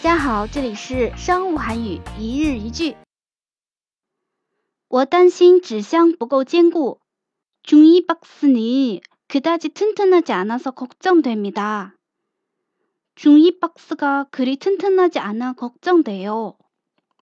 大家好，这里是商务韩语一日一句。我担心纸箱不够坚固。종이박스는 그다지 튼튼하지 않아서 걱정됩니다. 종이박스가 그리 튼튼하지 않아 걱정돼요.